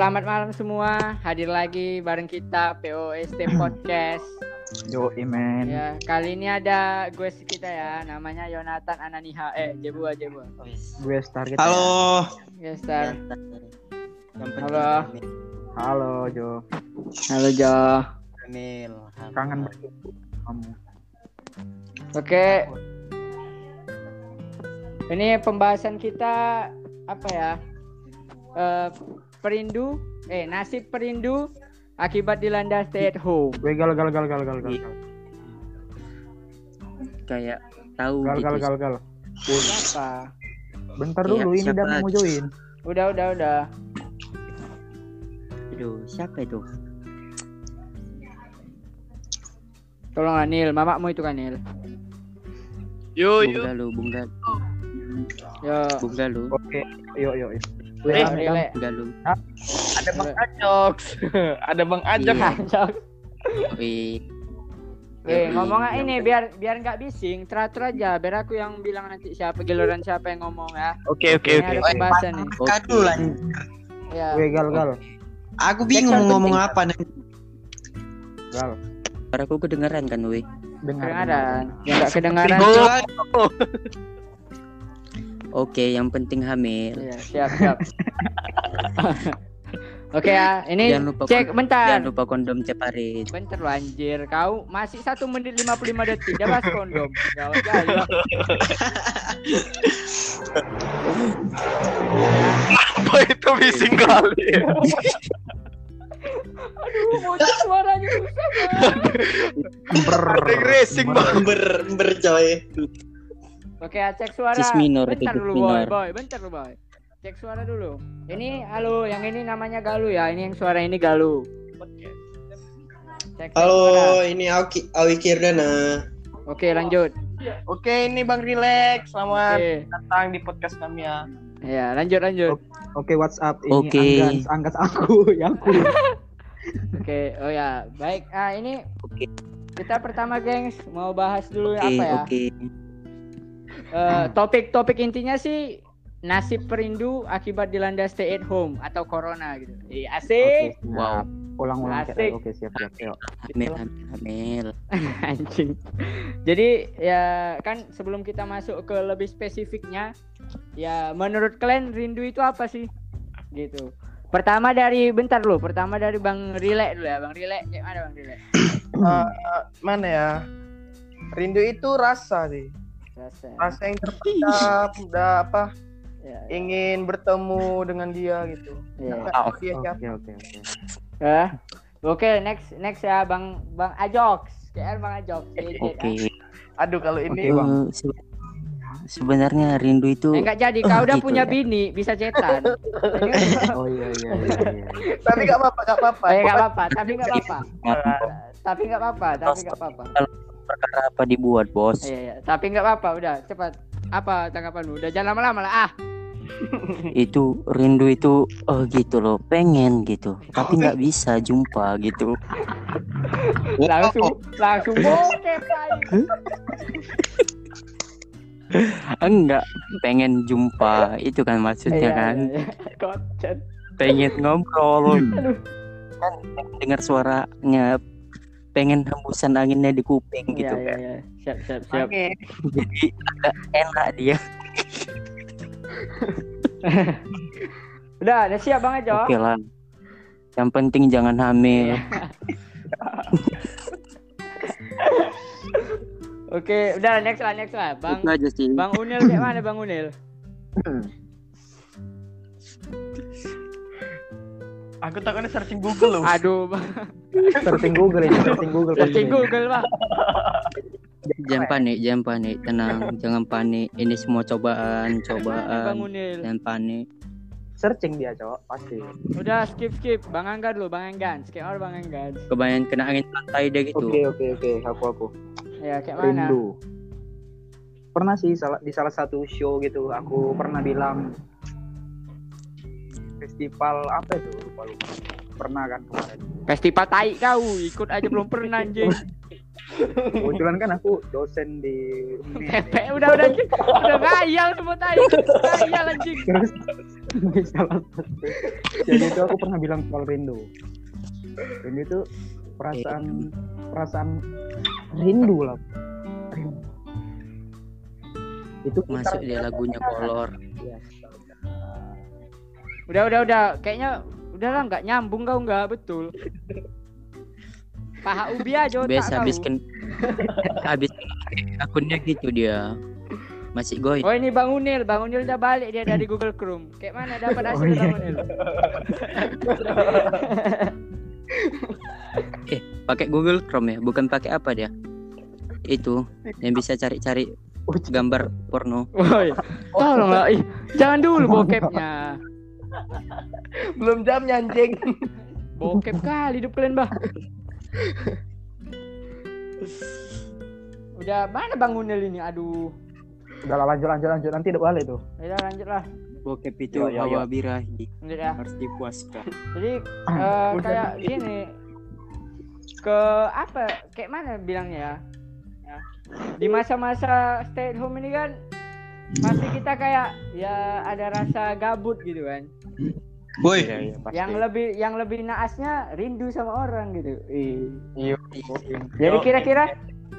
selamat malam semua. Hadir lagi bareng kita POST Podcast. Yo, Imen. Ya, kali ini ada gue kita ya, namanya Yonatan Ananiha. Jebua. Gue Star kita. Halo. Ya, Star. Halo. Halo, Jo. Halo, Jo. Emil. Kangen banget kamu. Oke. Ini pembahasan kita apa ya? Nasib perindu akibat dilanda stay at home. Gue gal. Kayak tahu Gal. Siapa? Bentar Kayak dulu, ini siapa udah mau lagi? join. Udah. Aduh, siapa itu? Tolong Anil, mamamu itu kan Nil. Bung Galuh. Oke, yuk. Rile. Galuh. Ada Bang Ajoks. Iya. Wih, Ngomongnya ini biar nggak bising, teratur aja. Biar aku yang bilang nanti giliran siapa yang ngomong ya. Oke. Ini ada pembahasan nih. Kadu lah. Ya. Gue gal. Aku bingung Cek ngomong penting. apa nih. Gal. suaraku kedengeran kan, weh? Kedengaran. Yang nggak kedengaran. Oke, yang penting hamil. Iya, siap. Oke ya, ini Jangan lupa bentar. Jangan lupa kondom ceparit. Bentar lu anjir, kau masih 1 menit 55 detik, dia bahas kondom. Jauh. Apa itu bising kali? Aduh, bocah suaranya susah banget. Racing ber coy. Oke, cek suara. Cis minor itu, Bentar cis dulu, minor. Bentar lu, boy. Cek suara dulu. Ini halo, yang ini namanya Galuh ya. Ini yang suara ini Galuh. Cek suara. Halo, ini Awi Kirdana. Oke, lanjut. Oke, ini Bang Relax. Selamat Oke. datang di podcast kami ya. Ya, lanjut. Oke, WhatsApp ini Oke. Anggas aku yang aku. Oke, oh ya, baik. Ini Oke. kita pertama, gengs, mau bahas dulu apa ya? Oke. Topik intinya sih nasib perindu akibat dilanda stay at home atau corona gitu. Asik. Oke, Wow. Ulang. Asik. Oke, siap. Yuk. Hamil. Anjing. Jadi ya kan sebelum kita masuk ke lebih spesifiknya, ya menurut kalian rindu itu apa sih? Gitu. Pertama dari Bang Rile dulu ya. Bang Rile, gimana Bang Rile? Mana ya? Rindu itu rasa sih. Rasa yang terpendam, udah apa? Ya. Ingin bertemu dengan dia gitu. Iya. Nggak tahu dia siapa. Oke. Oke, next ya Bang Ajoks. KR Bang Ajoks. Oke. Aduh kalau ini Sebenarnya rindu itu Enggak jadi, kau udah gitu punya ya. bini, bisa cetan. Oh iya. tapi nggak apa-apa. Nggak apa-apa, tapi nggak apa-apa. perkara apa dibuat, bos? Iya, tapi nggak apa-apa, udah cepat. Apa tanggapanmu? Udah jangan lama-lama lah. Itu rindu itu gitu loh, pengen gitu, tapi nggak bisa jumpa gitu. Langsung bokep aja. Enggak, pengen jumpa itu kan maksudnya kan. Iya. Kocet. Pengen ngobrol kan, dengar suaranya, pengen hembusan anginnya di kuping gitu kan. Iya. Siap. Oke. Jadi agak enak dia. Udah siap Bang Ajo. Oke lah, yang penting jangan hamil. Oke, udah next lah. Itu aja sih. Bang Unil kayak mana Bang Unil? Aku takutnya searching Google loh. Aduh, Bang. Searching Google. Searching Google, Bang. Jangan panik, tenang, jangan panik. Ini semua cobaan. Bang Unil. Jangan panik. Searching dia, Cok, pasti. Udah skip. Bang Angga dulu, Bang Angga. Skip Bang Angga. Kebanyakan kena angin pantai deh gitu. Oke. Aku. Ya, kayak mana? Rindu. Pernah sih di salah satu show gitu, aku pernah bilang festival apa itu? Lupa. Pernah kan kemarin. Festival tai kau, ikut aja belum pernah anjing. Kebetulan kan aku dosen di Pepe udah ngayal semua tai. Ngayal anjing. Salah satu. Jadi itu aku pernah bilang soal rindu. Rindu itu perasaan rindu lah. Rindu. Itu Masuk dia lagunya kolor. Udah. Kayaknya udahlah nggak nyambung kau nggak betul. Paha ubi aja Biasa tak tahu. habis akunnya gitu dia. Masih goy. Oh ini Bang Unil udah balik dia dari Google Chrome. Kayak mana dapat hasil Bang Unil? Pakai Google Chrome ya, bukan pakai apa dia? Itu yang bisa cari-cari gambar porno. Woi, tolonglah, jangan dulu bokepnya. Belum jamnya anjing. Bokep kali hidup kalian, Bah. Udah mana Bang Unil ini? Aduh. Udah lah, lanjut nanti udah balik tuh. Udah lanjutlah. Bokep itu hawa birahi. Lanjut ya. Harus dipuaskan. Jadi kayak gini. Kayak mana bilangnya ya? Di masa-masa stay at home ini kan pasti kita kayak ya ada rasa gabut gitu kan. Woi, Yang lebih naasnya rindu sama orang gitu. Iya. Jadi kira-kira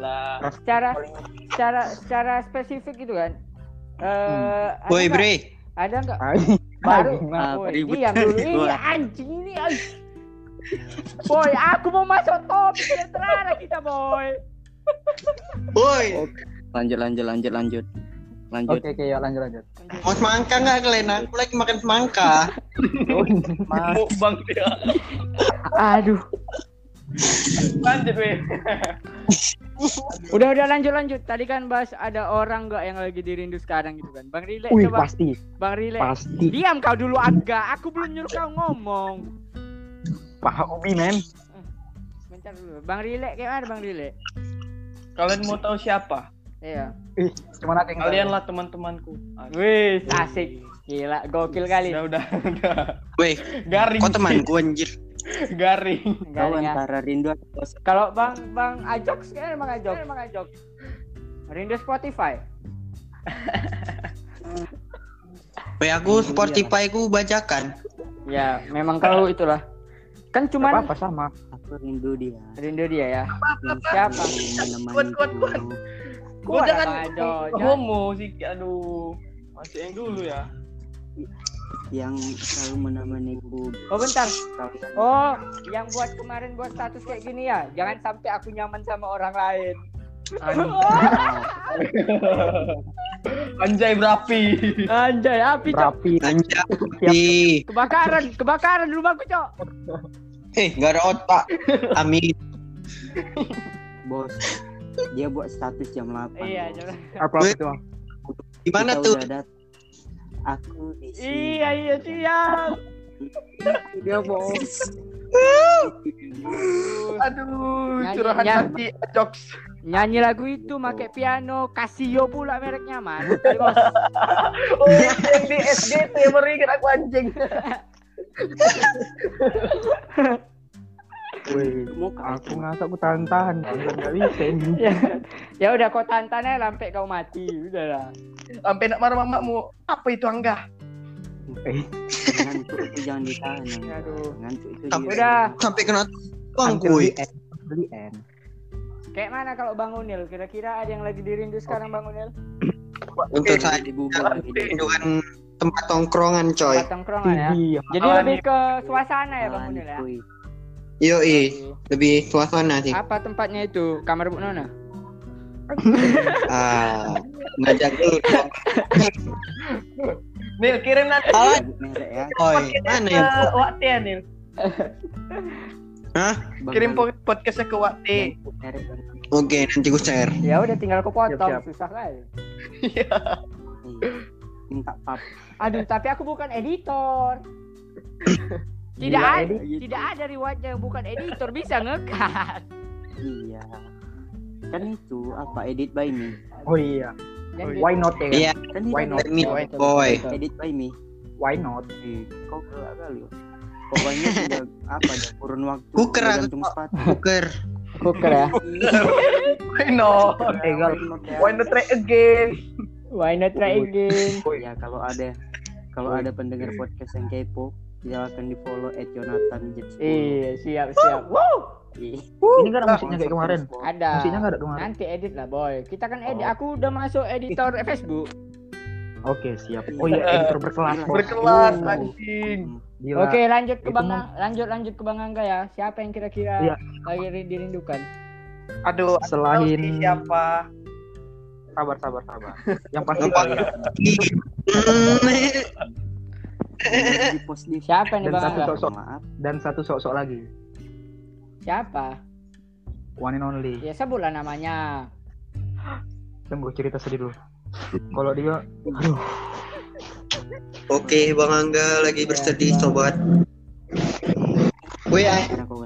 secara spesifik gitu kan. woi Bre. Ada nggak? Baru. Diam dulu. Ini anjing ini. Boy, aku mau masuk topik yang terarah kita, boy. Woi, Lanjut. Oke, yuk lanjut. mau semangka nggak kalian? Aku lagi makan semangka. Bang dia. Aduh. Lanjut weh. Udah lanjut. Tadi kan bahas ada orang nggak yang lagi dirindu sekarang gitu kan. Bang Rile Wih, coba. pasti. Bang Rile. Pasti. Diam kau dulu agak. Aku belum nyuruh kau ngomong. Paha ubi, men. Bentar dulu. Bang Rile kayak mana Bang Rile? Kalian mau tahu siapa? Iya. Ih, cuman ada yang Kalian lah teman-temanku. Wih, asik. Gila, gokil kali. Udah. Woi, Garing. kok temanku anjir? Garing. Kau Garing ya. antara rindu atau bosan? Kalau Bang Ajox kan emang Ajox. Rindu Spotify. Woi, aku Spotify ku bacakan. Ya, memang kau itulah. Kan cuman apa sama. Aku rindu dia. rindu dia ya. Yang Siapa? selalu Kuat. menemaniku. Kau Kuat jangan Bang Ajox. homo sih. Aduh. Masih yang dulu ya. Yang selalu menemaniku. Oh bentar. Kalian Oh, yang kemarin buat status kayak gini ya. Jangan sampai aku nyaman sama orang lain. Anjay berapi. Anjay, api cok. Rapi. Anjay. Kebakaran rumahku cok. Nggak ada otak. Amin. bos, dia buat status jam 8. Iya, bos. jangan. Apa itu? Gimana Kita tuh? udah datang. Aku di sini. Iya siap. Dia bos. Aduh, Nyanyi, curahan nyanyi. hati Jokes. Nyanyi lagu itu pakai piano, Casio pula mereknya man. Bos. Oh, yang di SGT yang baru ingat aku anjing. Wih, aku ngasa aku tahan. Enggak bisa ini. Ya udah kau tantannya sampai kau mati, udahlah. Sampai nak marah mamamu. Apa itu Angga? Ngantuk itu jangan ditahan. Aduh. Ngantuk itu Sampai- dia. Udah. Sampai kena bang kuy. Beli N. Kayak mana kalau Bang Unil? Kira-kira ada yang lagi dirindu sekarang Bang Unil? Untuk saya Di Google lagi dia. rindukan tempat tongkrongan coy. Tempat tongkrongan ya. Iya. Jadi lebih ke suasana ya Bang Unil ya. Kuy. Yoi, lebih suasana sih. Apa tempatnya itu? Kamar Bu Nona? Ngajak dulu dong. Nil, kirim nanti Merek ya. Oi, mana ya? ke Wakti ya Nil. Hah? Kirim podcastnya ke Wakti. Merek kan. Oke, nanti gue share. Ya udah tinggal aku potong, Siap. susah kali. Iya. Minta pap. Aduh, tapi aku bukan editor. Tidak Gila, ada, tidak ada riwayatnya yang bukan editor bisa ngekat. Iya. Kan itu apa edit by me. Oh iya. Dan Why not ya? Iya, Kan Why itu not? let me boy. edit by me. Why not? Kau kelak kali. Pokoknya sudah apa ada kurun waktu. Kuker aku, gantung sepatu. Kuker. Kuker ya. Why not? Egal. Why not try again? Why not try again? Ya kalau ada Kalau ada pendengar podcast yang kepo, silakan di follow @jonathan_jet10. Iya, siap. Ini nggak ada musiknya kayak kemarin. Ada. Musiknya nggak ada kemarin. Nanti edit lah, boy. Kita kan edit. Aku udah masuk editor Facebook. Oke, siap. Oh iya, editor berkelas. Berkelas anjing. Gila. Oke, lanjut ke Itu Bang lanjut ke Bang Angga ya. Siapa yang kira-kira Iya. lagi dirindukan? Aduh, Selain- tahu sih siapa? Sabar. Yang pasti kalian. Di post di Siapa nih Dan Bang satu Angga? sosok. maaf. Dan satu sok-sok lagi. Siapa? One and only. Ya sebutlah namanya. Tunggu cerita sedih dulu. Kalau dia, Oke, Bang Angga lagi bersedih sobat. Weh,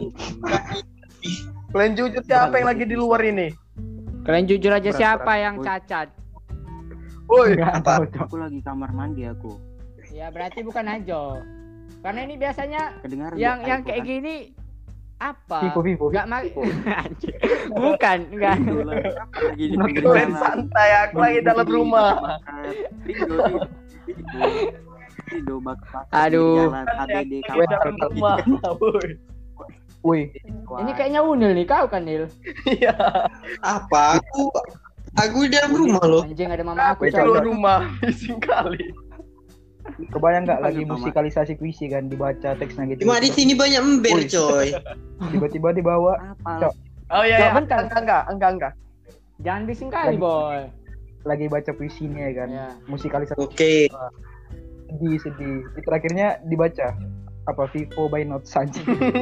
Kalian jujur siapa yang lagi di luar ini? Kalian jujur aja Berat, siapa berat. yang cacat? Woi, nggak apa? tahu, Cok. Aku lagi kamar mandi aku. Ya berarti bukan Ajo. Karena ini biasanya Kedengaran yang nggak? kayak Aku gini apa? Vivo. Enggak bukan, enggak. kan lagi di pinggir kalian jalan. santai, aku lagi dalam rumah. Rido bak. Aduh. Jalan HBD Lagi dalam rumah. Woi. Wih, Ini kayaknya Unil nih, kau kan Nil? Iya. Apa? Aku di dalam rumah loh. Anjing ada mama aku. Betul. Keluar coy. rumah, bising kali. kebayang nggak lagi Panggil musikalisasi puisi kan dibaca teksnya gitu. Cuma di sini banyak ember, Woi. coy. Tiba-tiba dibawa. Apa? Cok. Oh iya, Cok, bentar. enggak. Jangan bising kali, boy. Lagi baca puisinya ya kan. Ya. Musikalisasi Oke. sedih. Itu akhirnya dibaca apa Vivo by Not Sanji.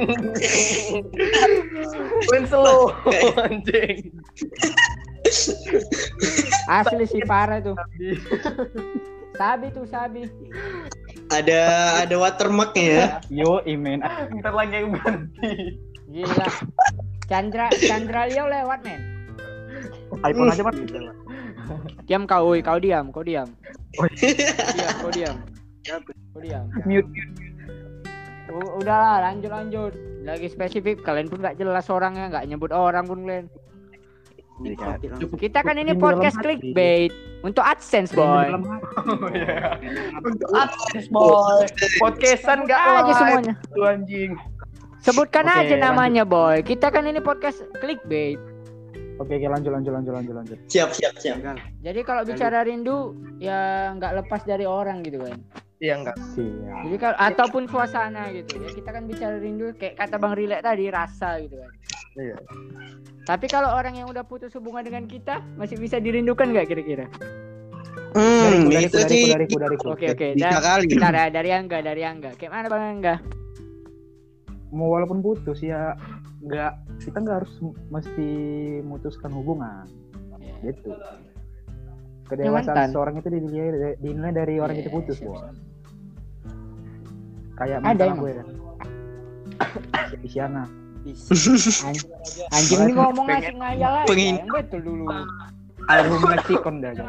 Kalian slow, anjing. Asli sih parah tuh. Sabi. Ada watermarknya ya. Yo, imen. Bentar lagi yang ganti. Gila. Chandra Leo lewat, men. iPhone aja mas. Diam kau, woi, kau diam. Kau diam. Mute. Udahlah, lanjut. Lagi spesifik, kalian pun nggak jelas orangnya, nggak nyebut orang pun kalian. Kita kan ini Di dalam podcast hati. clickbait untuk AdSense, boy. Untuk AdSense, boy. Podcastan enggak Aja live. semuanya. Tuh anjing. Sebutkan Oke, aja namanya, boy. Kita kan ini podcast clickbait. Oke, lanjut. Siap. Jadi kalau bicara rindu, ya nggak lepas dari orang gitu kan. Iya enggak. Siap. Jadi kalau ataupun suasana gitu ya, kita kan bicara rindu kayak kata Bang Rilek tadi, rasa gitu kan. Iya. Tapi kalau orang yang udah putus hubungan dengan kita masih bisa dirindukan nggak kira-kira? Itu sih. Dariku. Oke. Bisa kali. Bentar ya, dari Angga. Kayak mana Bang Angga? Mau walaupun putus ya kita nggak harus mesti memutuskan hubungan Ya. gitu. Mantan. Kedewasaan seorang itu dinilai dari orang Iya, itu putus, siap, Bos. Kayak Ada mantan emang. gue kan. Si Isyana. Anjing ini ngomong Pengen- asik ngayal aja. pengen- Yang betul dulu. Almarhum Lexicon dah. Jon.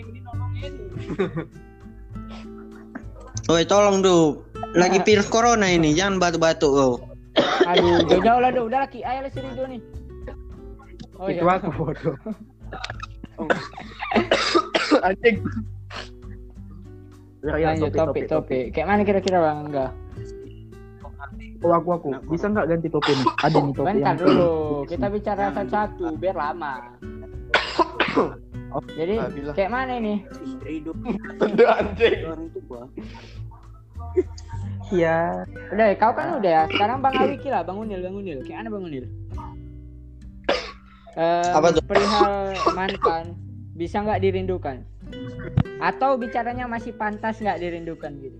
Woi, tolong tuh. Lagi virus corona ini, jangan batuk-batuk kau. Aduh, jauh lah, udah laki ayah si Rido nih. Oh Itu iya. aku bodoh. Anjing. Ya, Lanjut topik. Kayak mana kira-kira Bang Angga? Oh, aku. Bisa nggak ganti topi nih? Ada nih topi Bentar yang dulu, kita bicara satu-satu biar lama. Jadi Alhamdulillah. kayak mana ini? Rido Udah anjing. orang tua. Iya. Udah, kau kan udah ya. Sekarang Bang Awiki lah, Bang Unil. Kayak mana Bang Unil? Apa tuh? Perihal mantan bisa nggak dirindukan? Atau bicaranya masih pantas nggak dirindukan gitu?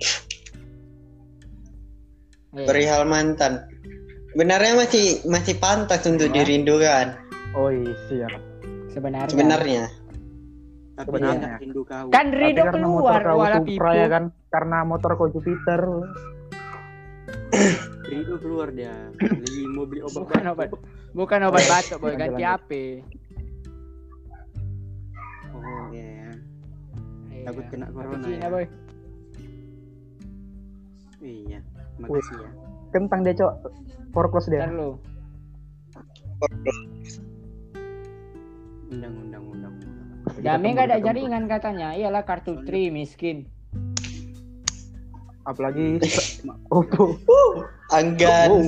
Perihal mantan. Benarnya masih pantas untuk dirindukan. Oh iya, siap. Sebenarnya. Tapi Sebenarnya. dia nggak rindu kau. Kan Tapi Rido karena keluar motor kau wala Supra pipu. ya kan, karena motor kau Jupiter. Rido keluar dia. Lagi mau beli obat. Bukan obat batuk, boy, Lanjut, ganti lanjut. HP. Oh iya. Iya. Takut kena corona Cina, ya. boy. Iya. Makasih ya. Kentang dia, Cok. Foreclose dia. Ntar lu. Undang. Dami nggak ada jaringan katanya. Iyalah kartu Tri miskin. Apalagi Oppo. Anggan.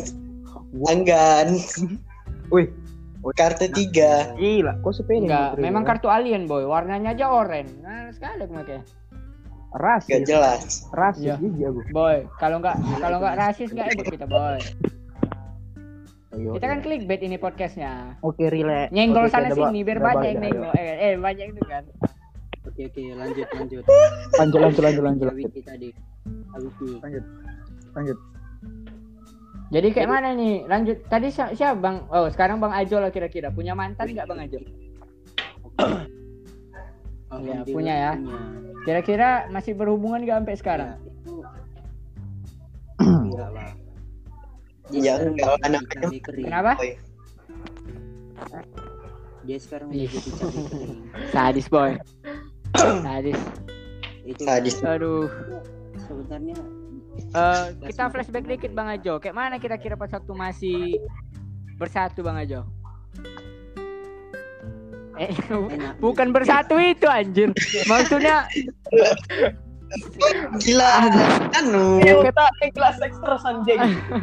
Wih, Kartu 3. gila. Kok sepeda? Enggak, memang kartu alien boy. Warnanya aja oranye. Nah, sekali aku pakai. rasis. Gak jelas. Rasis Iya. gigi aku. Boy, kalau nggak rasis nggak hidup kita boy. Ayo, Kita kan ya. clickbait ini podcastnya. Oke, relax. Nyenggol Oke, sana udah, sini biar udah banyak balik yang dah, nengok. Banyak itu kan. Oke, lanjut. Lanjut. Wiki tadi. Wiki. Lanjut. Jadi kayak mana nih? Lanjut. Tadi siapa Bang? Oh, sekarang Bang Ajo lah kira-kira. Punya mantan nggak Bang Ajo? Iya, punya ya. Kira-kira masih berhubungan nggak sampai sekarang? Enggak lah. Ya enggak anak Kenapa? Dia sekarang udah jadi cabai kering. Sadis boy. Sadis. Itu Sadis. Aduh. sebenarnya Kita flashback dikit Bang Ajo. Kayak mana kira-kira pas waktu masih bersatu Bang Ajo? Bukan bersatu itu anjir. Maksudnya gila. Anu. kelas ekstra anjing.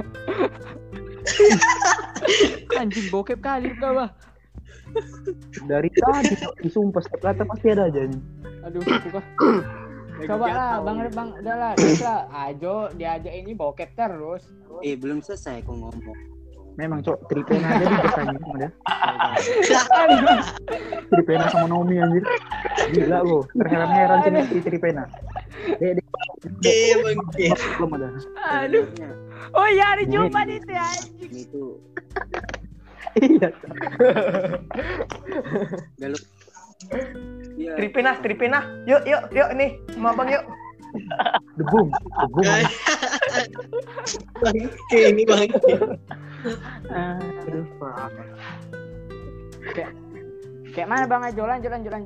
Anjing bokep kali kau bah. Dari tadi disumpah setiap kata pasti ada aja nih. Aduh, suka. Coba lah, Bang, udahlah, teruslah. Ajo diajak ini bokep terus. belum selesai aku ngomong. Memang cok, Tripena aja di depannya sama dia. Tripena sama Naomi anjir. Gila lo, terheran-heran sih Tripena. Belum ada. Aduh. Oh iya, hari Jumat itu ya. Itu Iya. galuk. Iya. Tripena. Yuk nih, sama Bang yuk. Debum. Bangke ini bangke. Aduh, Kayak mana Bang Ajo? Lanjut.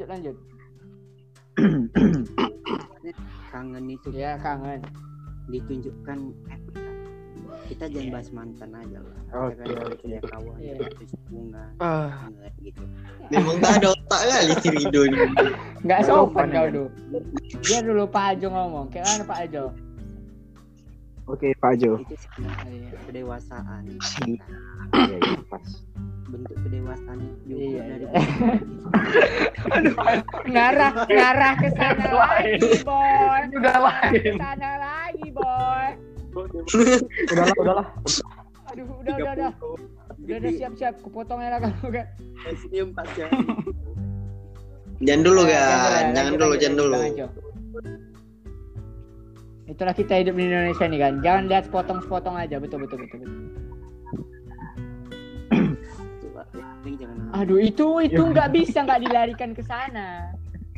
Kangen itu. Ya, kangen. Ditunjukkan kita jangan bahas mantan aja lah. Oke, Kita kan punya kawan, Iya. terus hubungan, gitu. Memang gak ada otak kali si Rido ini. Enggak sopan kau dulu. Dia dulu Pak Ajo ngomong. Kayak mana Pak Ajo? Oke, Pak Jo. Itu sebenarnya kedewasaan. Iya, pas. Bentuk kedewasaan juga Iya. dari Ngarah ke sana lagi, boy. Udah lain. Ke sana lagi, boy. Udahlah. Aduh, udah. Udah siap. Kupotongnya lah kamu kan. senyum pas ya. Jangan dulu kan. Jangan dulu. Bang Ajo. Itulah kita hidup di Indonesia nih kan. Jangan lihat sepotong-sepotong aja. Betul. Coba jangan. Aduh, itu nggak bisa nggak dilarikan ke sana.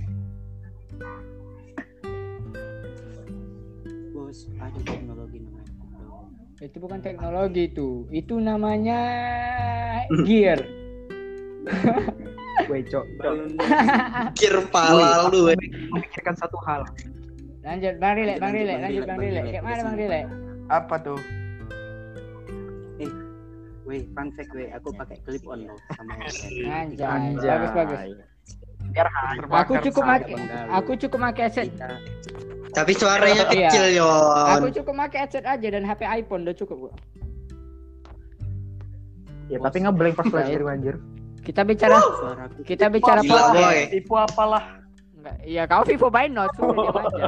Bos, ada teknologi namanya. Itu bukan teknologi itu namanya gear. Weh, cok. Kir pala lu. Memikirkan satu hal. Lanjut Bang Rilek. Kayak mana Bang Rilek? Apa tuh? Weh, fun fact aku pakai clip on loh sama headset. Anjay. Bagus. Aku cukup pakai headset. Tapi suaranya Iya. kecil Aku Yon. cukup pakai headset aja dan HP iPhone udah cukup kok. Ya, tapi ngeblank pas flash dari anjir. Kita bicara Suaraku podcast. Gila boy. Tipu apalah. Enggak, iya kau Vivo by Note sudah diam aja.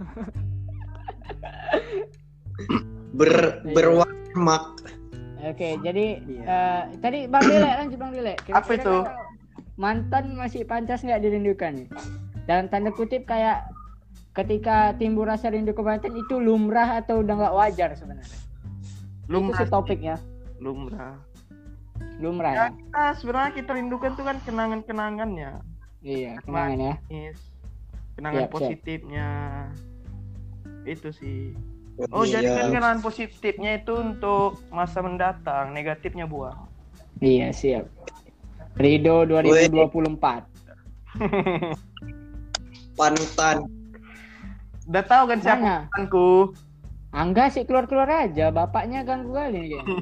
Berwarmak. Oke, jadi Iya. tadi Bang Rilek. Apa itu? Mantan masih pantas nggak dirindukan? Dalam tanda kutip kayak ketika timbul rasa rindu ke mantan itu lumrah atau udah nggak wajar sebenarnya? Itu sih topiknya. Lumrah. Lumrah Ya, ya? sebenarnya kita rindukan tuh kan kenangan-kenangannya. Iya, kenangan ya. Kenangan Siap. positifnya. Itu sih. Iya. Oh, jadi kan kenangan positifnya itu untuk masa mendatang, negatifnya buang. Iya, siap. Rido 2024. Panutan. Udah tahu kan siapa Mana? mantanku? Angga sih keluar aja, bapaknya ganggu kali nih kayaknya.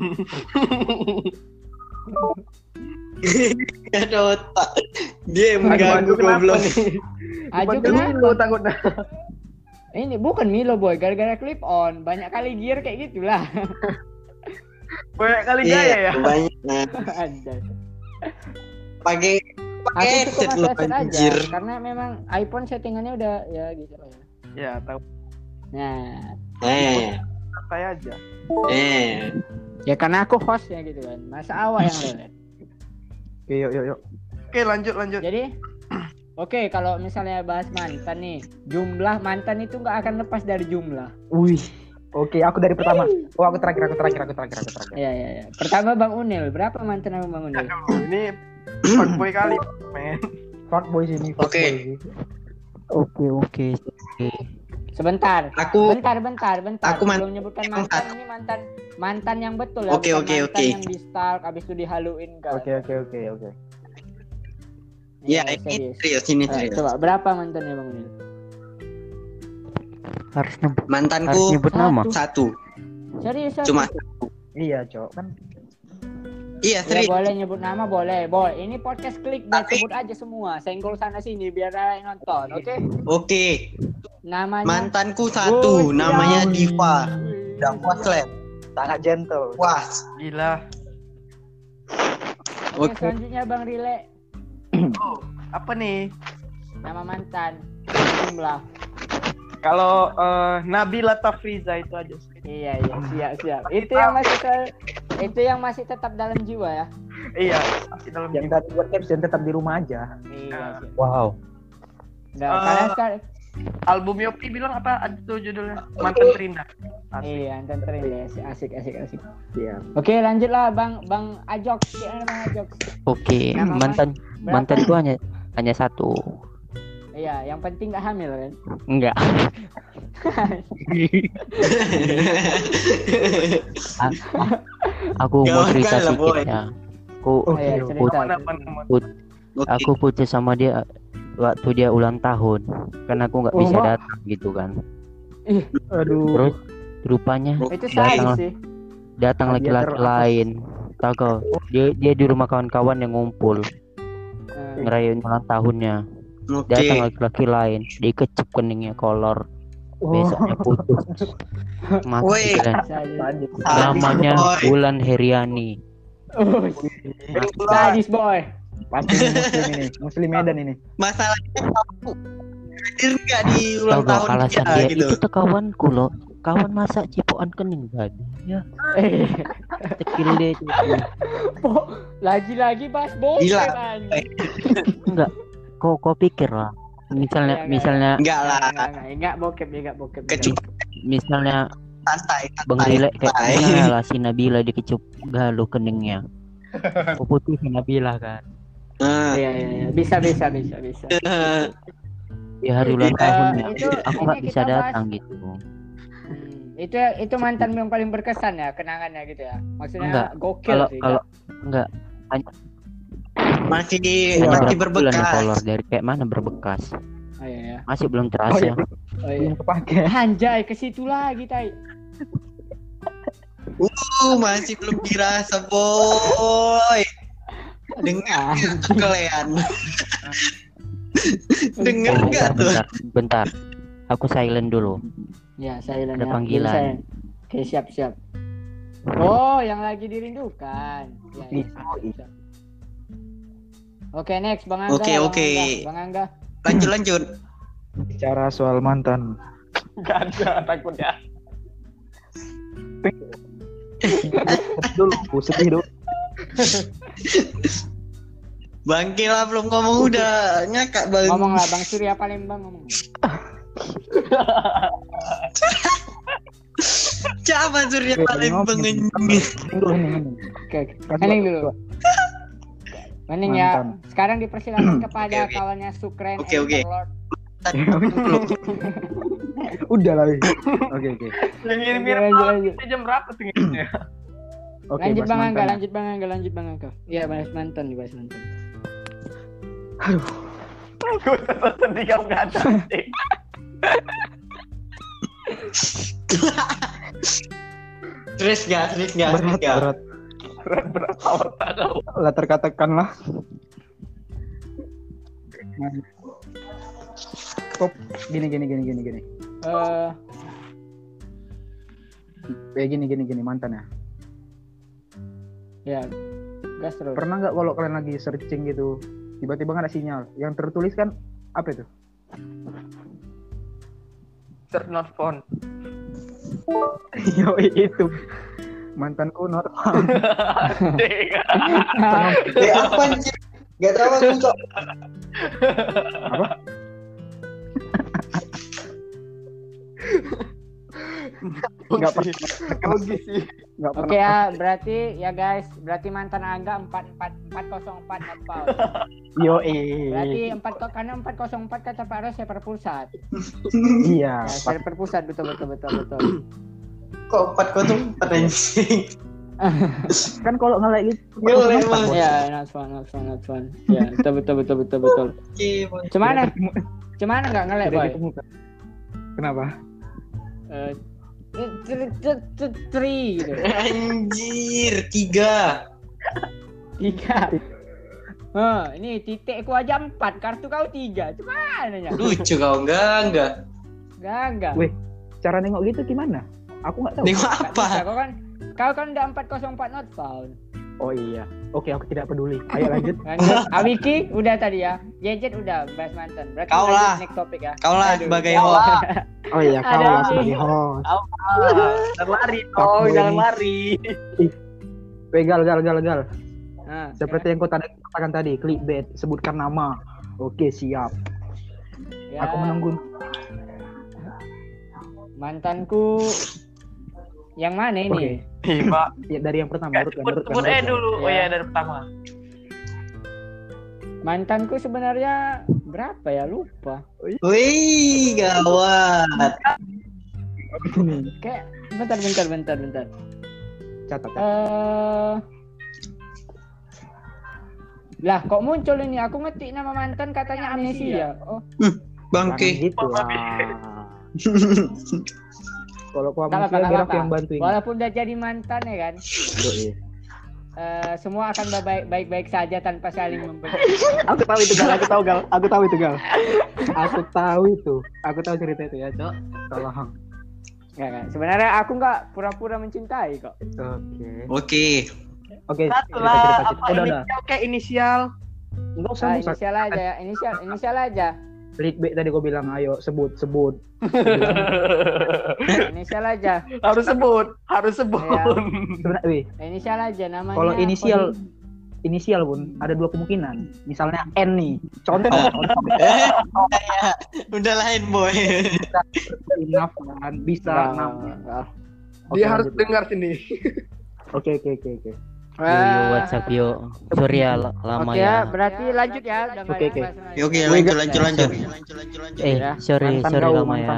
Gak ada otak. Dia yang mengganggu Aduh, kenapa goblok. nih? Ajo Dipanggil dulu kenapa? takutnya. Ini bukan Milo boy, gara-gara clip on. Banyak kali gear kayak gitulah. Banyak kali gaya ya. Banyak. Nah, Anjay. pakai Aku headset cukup lu headset aja anjir. karena memang iPhone settingannya udah ya gitu lah. Ya, tahu Nah, santai aja. ya karena aku hostnya gitu kan. Masa awak yang lelet. Oke, yuk. Oke, lanjut. Jadi oke, kalau misalnya bahas mantan nih, jumlah mantan itu nggak akan lepas dari jumlah. Wih. Oke, aku dari pertama. Oh, aku terakhir. Iya. Pertama Bang Unil, berapa mantan abang Bang Unil? Aduh, ini fuckboy kali, men. Fuckboy sini. Oke. Oke. Sebentar. Bentar. Aku Belum menyebutkan yang mantan, ini mantan yang betul ya. Oke, bukan oke, mantan oke. yang di stalk habis itu dihaluin kan. Oke. Ya, Iya, ini serius. serius. Coba berapa mantannya Bang Unil? Harus nyebut Mantanku nama. satu. Serius? Cuma Iya, Cok. Kan iya Ya serius. boleh nyebut nama boleh. Ini podcast klik dan sebut aja semua. Senggol sana sini biar ada yang nonton, oke? Oke. Namanya Mantanku satu, namanya Diva. Dan Waslet. sangat gentle. Was. Gila. Oke, selanjutnya Bang Rile. Oh, apa nih? Nama mantan. Jumlah. Kalau Nabila Tafriza itu aja. Iya, siap. Itu yang masih tetap dalam jiwa ya. Iya, masih dalam Yang tadi buat caption tetap di rumah aja. Iya, siap. Wow. Nah, karena sekarang album Yopi bilang apa itu judulnya? Mantan Terindah. Asik. iya, mantan terindah. Asik. Iya. Oke, lanjutlah Bang Ajok. Gimana Bang Ajok? Oke, Nama mantan itu hanya satu. Iya, yang penting nggak hamil kan? Enggak. Aku mau Gawat cerita kan lah, sedikit boy. ya. Aku Iya, cerita. aku putus sama dia waktu dia ulang tahun karena aku nggak bisa datang gitu kan. Aduh. Terus rupanya Itu sadis datang sih. Dia laki-laki lain. Tahu kau? Dia di rumah kawan-kawan yang ngumpul ngerayain ulang tahunnya. Datang Oke. laki-laki lain, dikecep keningnya kolor. Besoknya putus. Woi. Mati kan. Sadis. Namanya boy. Wulan Heriani. Sadis boy. Pasti ini muslim ini. Muslim Medan ini. Masalahnya kamu hadir nggak di Tahu ulang gak tahun alasan dia dia? gitu. Itu tuh kawanku loh. Kawan masak cipokan kening tadi. Ya, cekil deh itu. Lagi-lagi bahas bokep Gila. anjing. Enggak. Kau pikir lah. Misalnya Enggak lah. Enggak bokep. Kecuali misalnya santai. Bang Rile kayak misalnya lah si Nabila dikecup galuh keningnya. Aku putih si Nabila kan. Iya. Bisa. Di hari ulang tahunnya aku ini nggak bisa kita bahas- datang gitu. Itu mantan yang paling berkesan ya kenangannya gitu ya. Maksudnya Enggak. gokil sih. Kalau enggak Masih hanya masih berapa bulan ya berbekas. kolor dari kayak mana berbekas. Oh iya. Masih belum terasa. Belum kepake. Anjay, ke situ lagi tai. Masih belum dirasa, boy. Dengar nggak kalian? Dengar nggak tuh? Bentar. Aku silent dulu. Ya, saya Ada panggilan. Oke, siap. Oh, yang lagi dirindukan. Ya. Siap. Oke, next Bang Angga. Oke. Bang Angga. Lanjut. Bicara soal mantan. Gak ada takutnya. Dulu, sedih dulu. Bangke lah belum ngomong udah ngakak bang. Ngomong lah Bang Surya Palembang ngomong. Siapa Surya Palembang ini? Oke. Hening dulu. Hening ya. Mantan. Sekarang dipersilakan kepada Oke. kawannya Sukren Oke. Overlord. Udah lah. Oke. Yang ini mirip Lanjut. jam berapa sih ngitungnya? Oke, Lanjut bahas Bang Angga, mantan. lanjut Bang Angga. Iya, bahas mantan. Gue tetap sedih kamu gak ada. Serius gak? Berat. Otak kamu. Lah terkatakan lah. Kok gini. Gini mantan ya. Ya, gas terus. Pernah nggak kalau kalian lagi searching gitu, tiba-tiba nggak ada sinyal, yang tertulis kan apa itu? Search not found. Yo itu mantanku not found. Apa anjir? Gak tahu aku cok. Apa? Nggak pernah. sih. Nggak pernah. Oke ya, berarti ya guys, berarti mantan Angga 404 not found. Yo Berarti karena 404 kata Pak Ros server pusat. Iya. Ya, server pusat betul. Kok 404 anjing? Kan kalau nge-like gitu. Boleh, Mas. Ya, not found. Ya, betul. Oke, Mas. Cuman nggak nge-like Tidak boy. ditemukan. Kenapa? Tri gitu. Anjir, 3. Ini titikku aja 4, kartu kau 3. Cuman ya. Lucu kau enggak. Enggak. Weh, cara nengok gitu gimana? Aku nggak tahu. Nengok Nggak bisa, apa? Kau kan udah 404 not found. Oh iya. Oke, aku tidak peduli. Ayo lanjut. Lanjut. Awiki udah tadi ya. Jejet udah bahas mantan. Berarti Kau lanjut lah. next topik ya. Kau lah Aduh. sebagai host. Oh iya, kau Ada lah nih. sebagai host. Jangan lari, Oh, jangan lari. Weh, gal. Nah, Seperti yang kau katakan tadi, clickbait, sebutkan nama. Oke, siap. ya, Aku menunggu. mantanku yang mana ini? Oke. Pak. Ya, dari yang pertama, urutkan. dulu. Oh iya, dari pertama. Mantanku sebenarnya berapa ya? Lupa. Wih, gawat. Kayak bentar. Catat. Lah kok muncul ini? Aku ngetik nama mantan katanya amnesia. Oh, Bangke. Gitu lah. Kalau kau tak amnesia, biar aku apa. yang bantuin. Walaupun udah jadi mantan ya kan, Yoi. semua akan baik-baik saja tanpa saling membenci. Aku tahu itu gal. Aku tahu cerita itu ya, Cok. Tolong. Enggak. Sebenarnya aku nggak pura-pura mencintai kok. Oke. Oke. Satu Cerita. lah, apa Udah. inisial kayak inisial. Enggak usah. Inisial aja ya. Inisial aja. Clickbait tadi gua bilang, ayo sebut. Inisial aja. Harus sebut. Ya. Sebenarnya, wih, Inisial aja namanya. kalau inisial pun ada dua kemungkinan. Misalnya N nih. Contoh. Udah lain boy. Enough kan bisa. Nah, Dia harus dengar sini. Oke. Yo, WhatsApp yo. Sorry ya lama Oke ya. Berarti lanjut ya. Udah nggak Oke. ada bahas lagi. Oke, lanjut. Sorry lama ya.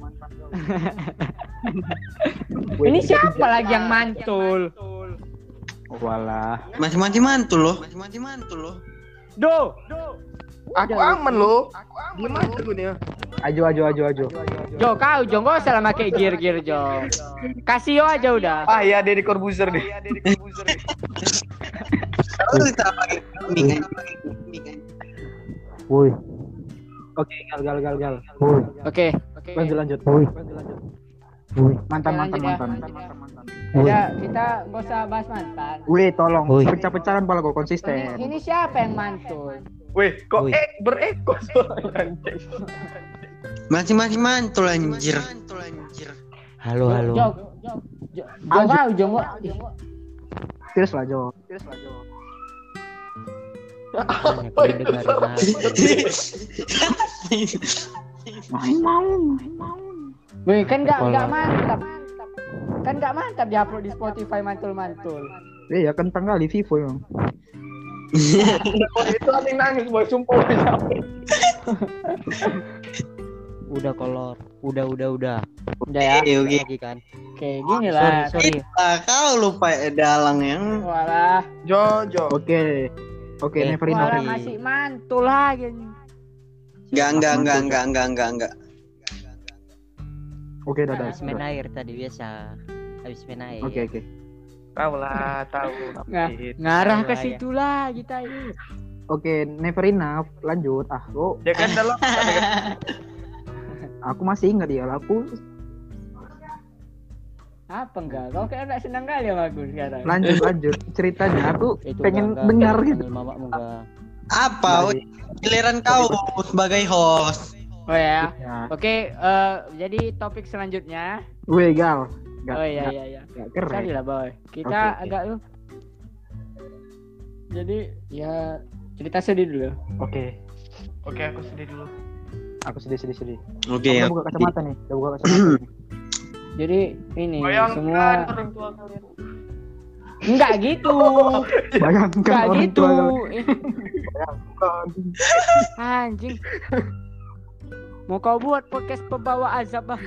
Ini siapa lagi yang mantul? Walah. Masih mantul loh. Do. Aku aman loh. Diam aja gue nih. Ajo. Jo, kau Jo nggak usah lama kayak gear Jo. Kasio aja udah. Ah ya, Deddy Corbuzier deh. Terus kita pakai ming. Woi. Oke, gal. Woi. Oke. Lanjut. Woi. Mantan. Lanjut ya. Ya, kita nggak usah bahas mantan. Woi, tolong. Woi. Pecah-pecahan pala kok konsisten. Ini siapa yang mantul? Weh, kok Wih. berekor suaranya. Masih mantul anjir. Halo. Jo, kau Jo nggak? Terus lah, Jo. Banyak yang dengerin aku. Wih, kan nggak Kepala. mantap. Kan nggak mantap diupload di Spotify mantul. Iya, kentang kali Vivo emang. Itu ada yang nangis boy, sumpah boy. Udah kolor. Udah. Udah ya. Oke. Lagi kan. Oke, gini lah. Sorry. Kau lupa dalang yang Walah, Jojo. Oke, never enough. walah masih mantul lagi. enggak. Oke, dadah. Habis main air tadi biasa. Habis main air. Oke. Tahu lah, tahu. Ngarah ke Ayo, situ lah kita ini. Oke, never enough. Lanjut. Lo Dia kan dalam Aku masih ingat ya, aku Apa enggak? Kau kayak enggak senang kali sama aku sekarang. lanjut ceritanya. Aku Itu pengen enggak, dengar panggil gitu. mamamu enggak. Apa? Giliran kau sebagai host. Oh ya. Ya. Oke, jadi topik selanjutnya. Weh Gal. Oh iya. Gak keren. Sorry lah boy. Kita Oke. agak lu. Jadi ya cerita sedih dulu. Oke. Oke, aku sedih dulu. Aku sedih. Oke. Udah buka kacamata nih. Nih. Jadi ini Bayangkan semua orang tua kalian. enggak gitu. Bayangkan Enggak orang gitu. tua. Anjing. Mau kau buat podcast pembawa azab ah.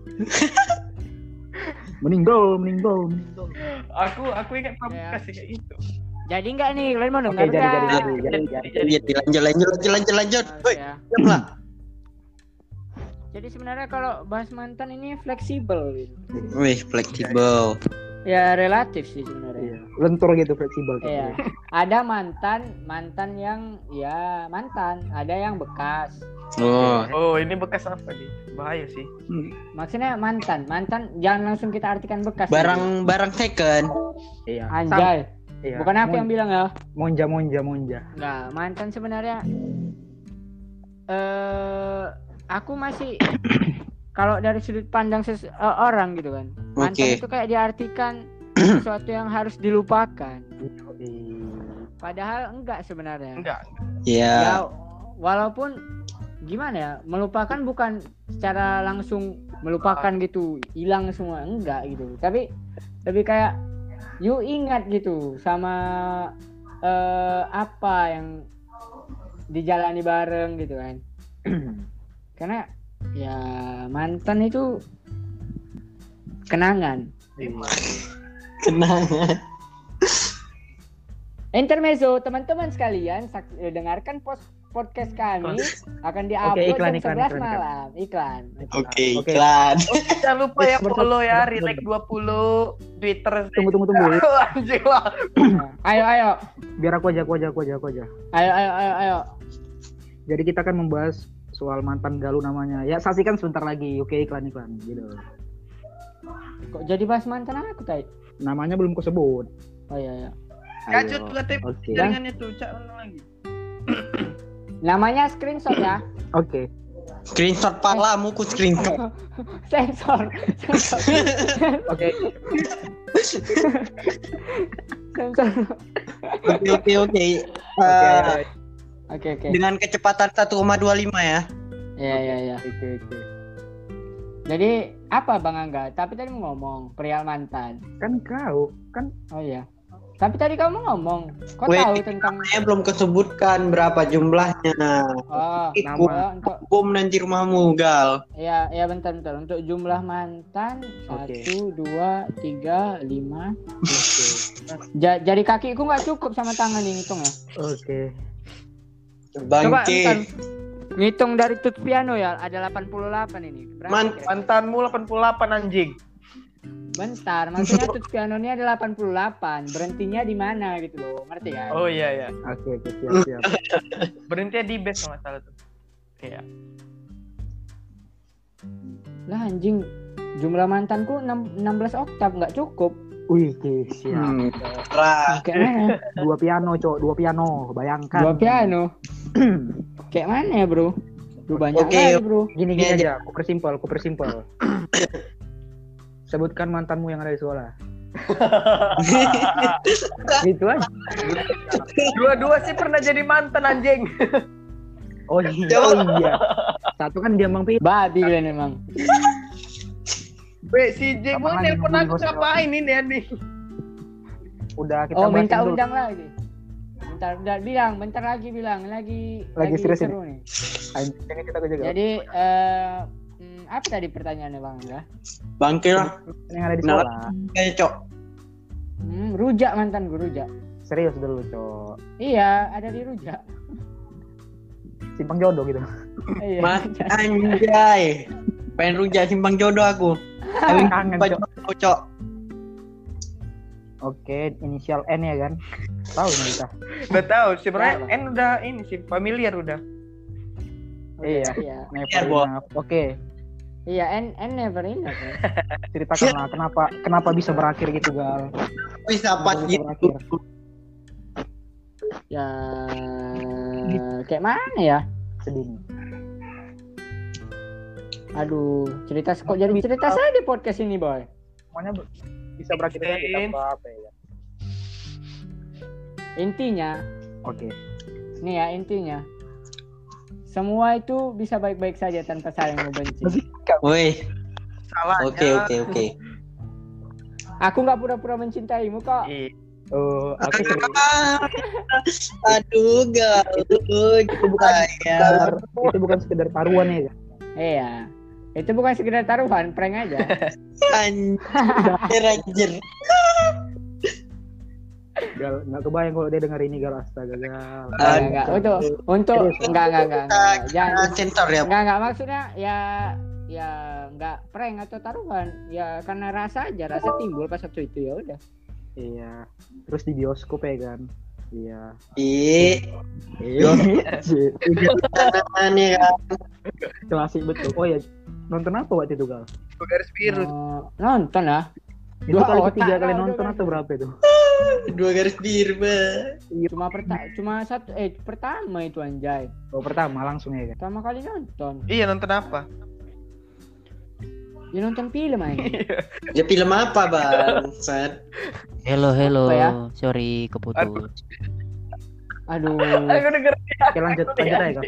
Meninggal. Aku ingat kamu Ya. kasih kayak gitu. Jadi enggak nih, kalian mau Oke, dengar jadi. Lanjut. Woi, Ya. diam lah. Jadi sebenarnya kalau bahas mantan ini fleksibel gitu. Wih, fleksibel. Ya relatif sih sebenarnya. Iya. Lentur gitu, fleksibel. Iya. Ada mantan yang ya mantan, ada yang bekas. Oh, Oh, ini bekas apa nih? Bahaya sih. Maksudnya mantan jangan langsung kita artikan bekas. barang second. Iya. Anjay. Iya. Bukan aku yang bilang ya. Monja. Enggak, mantan sebenarnya aku masih kalau dari sudut pandang orang gitu kan. Mantan Oke. itu kayak diartikan sesuatu yang harus dilupakan. Padahal enggak sebenarnya. Enggak. Ya. Ya walaupun gimana ya, melupakan bukan secara langsung melupakan gitu, hilang semua, enggak gitu. Tapi lebih kayak you ingat gitu sama apa yang dijalani bareng gitu kan. Karena ya mantan itu kenangan. Kenangan. Intermezzo, teman-teman sekalian, dengarkan podcast kami akan diupload Oke, iklan. jam 11 malam. Iklan. Oke, Oke. iklan. Jangan lupa ya follow ya, Relax 20, Twitter. Tunggu. Anjing lah. Ayo. Biar aku aja. Ayo. Jadi kita akan membahas soal mantan galau namanya. Ya, saksikan sebentar lagi. Oke, iklan gitu. Kok jadi bahas mantan aku tadi? Namanya belum kusebut. Oh iya. Kacut tuh KTP Oke. jaringannya tuh, cak mana lagi? Namanya screenshot ya. Oke. Screenshot palamu ku screenshot. Sensor. Oke. Sensor. Oke. Oke. Dengan kecepatan 1,25 ya. Iya. Oke. Jadi apa Bang Angga? Tapi tadi mau ngomong perihal mantan. Kan kau kan Oh iya. Tapi tadi kamu ngomong, kau Wait, tahu tentang Saya belum kesebutkan berapa jumlahnya. oh, nama. untuk Bom nanti rumahmu, Gal. ya bentar. Untuk jumlah mantan Oke. 1, 2, 3, 5. Jari kakiku nggak cukup sama tangan ini hitung ya. Oke. Coba Bangke. bentar. Ngitung dari tut piano ya, ada 88 ini. Berapa kira? Mantanmu 88 anjing. Bentar, maksudnya tut piano ini ada 88. Berhentinya di mana gitu loh, ngerti kan? Oh iya. Oke, siap. Berhenti di base kalau nggak salah tuh. Iya. Lah anjing, jumlah mantanku 16 oktav nggak cukup. Wih, siap. Rah. Kayak mana? Dua piano. Bayangkan. Dua piano. Kayak mana ya bro? Duh, banyak Oke. kali bro. Gini Ini aja. Aku persimpel. Sebutkan mantanmu yang ada di sekolah. Gitu aja. Dua-dua sih pernah jadi mantan anjing. Oh iya. Satu kan dia Bang Pi. Babi kalian emang. Weh, si Jeng mau Apaan nelpon yang aku ngomongin ngapain ini anjing? Udah kita Oh bahasin minta dulu. undang lagi. Bentar lagi bilang lagi serius seru nih. Ini kita juga. Jadi apa tadi pertanyaannya Bang Angga? Bangke lah. Yang ada di sekolah. Kayak cok. Rujak mantan gue rujak. Serius dulu, Cok. Iya, ada di rujak. Simpang jodoh gitu. Iya. Mas anjay. Pengen rujak simpang jodoh aku. Kawin Kangen, baju Cok. cok. Oke, inisial N ya kan? Tahu nih kita. Udah tahu sebenarnya Tahu. N udah ini sih familiar udah. Iya. Iya. Never Bo. enough. Oke. Iya, and never enough. Kan? Ceritakanlah kenapa bisa berakhir gitu, Gal. Bisa Kenapa apa bisa gitu. berakhir? Ya kayak mana ya? Sedih nih. Aduh, cerita kok jadi cerita saya di podcast ini, Boy. Semuanya bisa berakhir tanpa apa ya? Intinya, Oke. nih ya intinya. Semua itu bisa baik-baik saja tanpa saling membenci. Woi. Salahnya. Oke. Aku nggak pura-pura mencintaimu kok. Oh, aku serius. Aduh, Gal. Itu bukan sekedar taruhan ya. Iya. Itu bukan sekedar taruhan, prank aja. Anjir. Gal, nggak kebayang kalau dia denger ini, Gal. Astaga, Gal. Enggak. Untuk enggak. Jangan Sensor ya. enggak maksudnya ya enggak prank atau taruhan. Ya karena rasa timbul pas waktu itu ya udah. Iya. Terus di bioskop ya kan. Iya. Iya. Nih kan. Klasik betul. Oh ya, nonton apa waktu itu, Gal? Garis biru. Nonton lah. Itu kali ketiga kali nonton atau berapa itu? 2 garis biru, Cuma pertama itu anjay. Oh, pertama langsung ya kan. Pertama kali nonton. Iya, nonton apa? Ya nonton film aja. Ya film apa, Bang? Sad. Hello. Apa ya? Sorry keputus. Aduh. Aku denger. Oke, lanjut aja, Gal.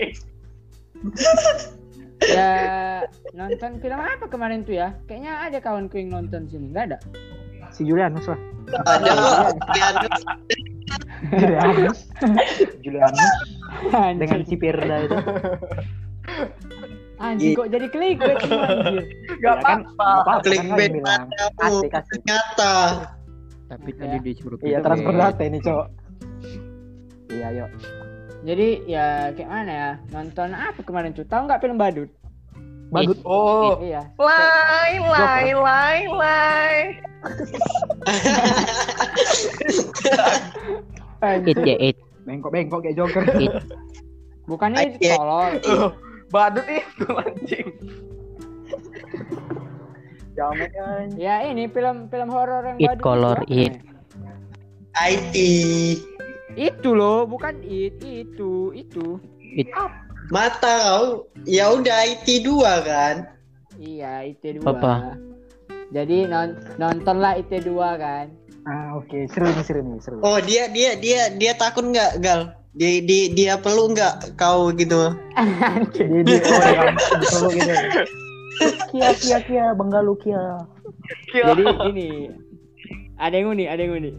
Ya nonton film apa kemarin tuh ya? Kayaknya ada kawanku yang nonton sini. Enggak ada. Si Julianus lah. Ada Julianus dengan Anjing. si Pirda itu. Anjing kok jadi clickbait semua anjir. Gak Ya kan, apa-apa. clickbait bilang. matamu. Asik. Nyata. Tapi Ya. tadi disuruh Iya, transfer data ini, Cok. Iya, yuk. Jadi ya kayak mana ya? Nonton apa kemarin tuh? Tahu nggak film Badut? Badut. Oh. Iya. Lai. It ya it. Bengkok kayak Joker. Bukannya itu Iya. tolol. Badut itu anjing. Jamet kan. Ya ini film horor yang It Badut. color, itu apa it. namanya? IT. Itu loh, bukan itu. Mata kau. Ya udah IT 2 kan. Iya, IT2. Apa? Jadi nontonlah IT2 kan. Ah, oke. Seru nih. Oh, dia takut enggak, Gal? Dia perlu enggak kau gitu? Dia perlu gitu. Kia, Benggalu Kia. Jadi gini. Ada yang unik.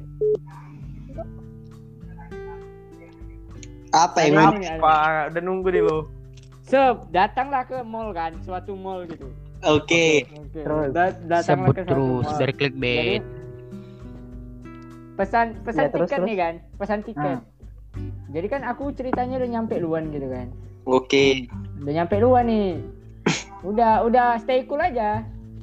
Apa yang Ada mau? yang unik. Pak, udah nunggu nih lo. Datanglah ke mall kan, suatu mall gitu. Oke. Oke. Terus. Datanglah Sebut ke suatu terus mall. dari clickbait. Jadi, pesan Ya, terus. tiket nih kan, pesan tiket. Jadi kan aku ceritanya udah nyampe luan gitu kan. Oke. Udah nyampe luan nih. Udah stay cool aja.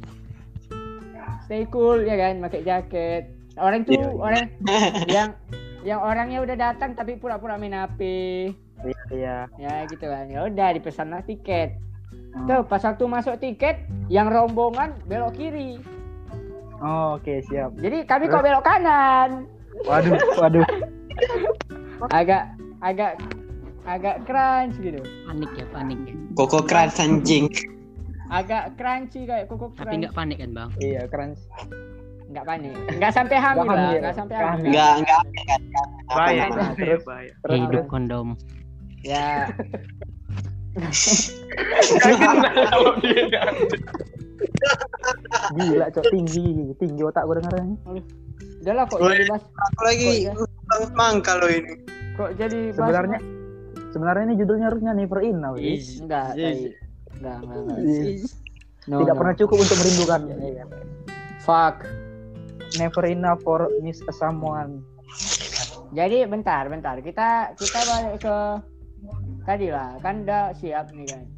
Stay cool ya kan, pakai jaket. Orang tuh orang yang orangnya udah datang tapi pura-pura main HP. Iya. Ya gitu kan. Ya udah dipesanlah tiket. Tuh pas waktu masuk tiket yang rombongan belok kiri. Oh, oke, siap. Jadi kami kok belok kanan. Waduh. Agak crunch gitu. Panik. Koko keras anjing. Agak crunchy kayak kuku Tapi crunch. nggak panik kan bang? Iya, keren. Enggak panik. Enggak sampai hamil Nggak lah, hamil. enggak sampai Nggak hamil. Enggak. Bahaya. Nah, terus. Bahaya. Hidup kondom. Ya, Gila, Cok, tinggi otak gue dengarnya. udahlah kok Boleh. jadi bahas. Aku lagi bang kalau ini. Kok jadi bahas. Sebenarnya ini judulnya harusnya Never Enough. Enggak, enggak. No, Tidak no. pernah cukup untuk merindukan. Fuck. Never enough for miss someone. Jadi bentar. Kita balik ke tadi lah. Kan udah siap nih kan.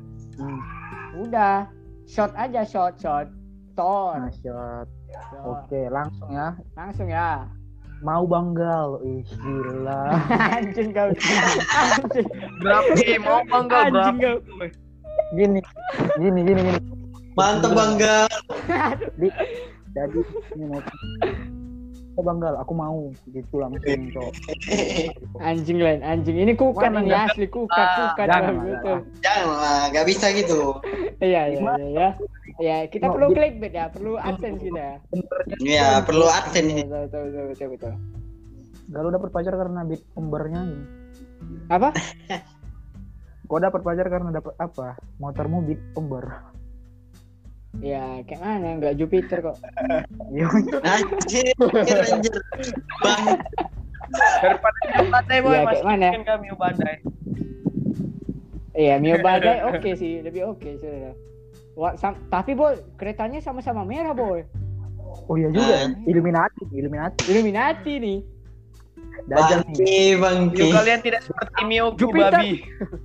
Udah. Shot aja. Tor. Nah, shot. Oke, langsung ya. Langsung ya. Mau Banggal. Ih, gila. Anjing kau. Anjing. Berapa nih? Mau bangga Anjing berapa? kau. Gini. Mantap Bang Gal. Jadi ini mau Bang Gal, aku mau gitu langsung cok. Anjing lain, anjing. Ini kukat Wah, ini enggak. asli kukat. Jangan, Betul. Janganlah, nggak bisa gitu. Iya. Ya, kita perlu clickbait ya, perlu AdSense kita. Ya, perlu adsen ini. Betul. Gal udah pacar karena beat umbernya ini. Apa? Kau dapat pacar karena dapat apa? Motormu beat umber. Ya, kayak mana? Enggak Jupiter kok. Iya. Anjir. Bang. Daripada Mio Badai boy, Iya, masih kayak mana? bikin kami Mio Badai. Iya, Mio Badai oke sih, lebih oke sudah. Tapi boy, keretanya sama-sama merah boy. Oh iya juga ya. Illuminati. Illuminati nih. Dajjal nih. Bangki. Mio kalian tidak seperti Mio Jupiter. babi.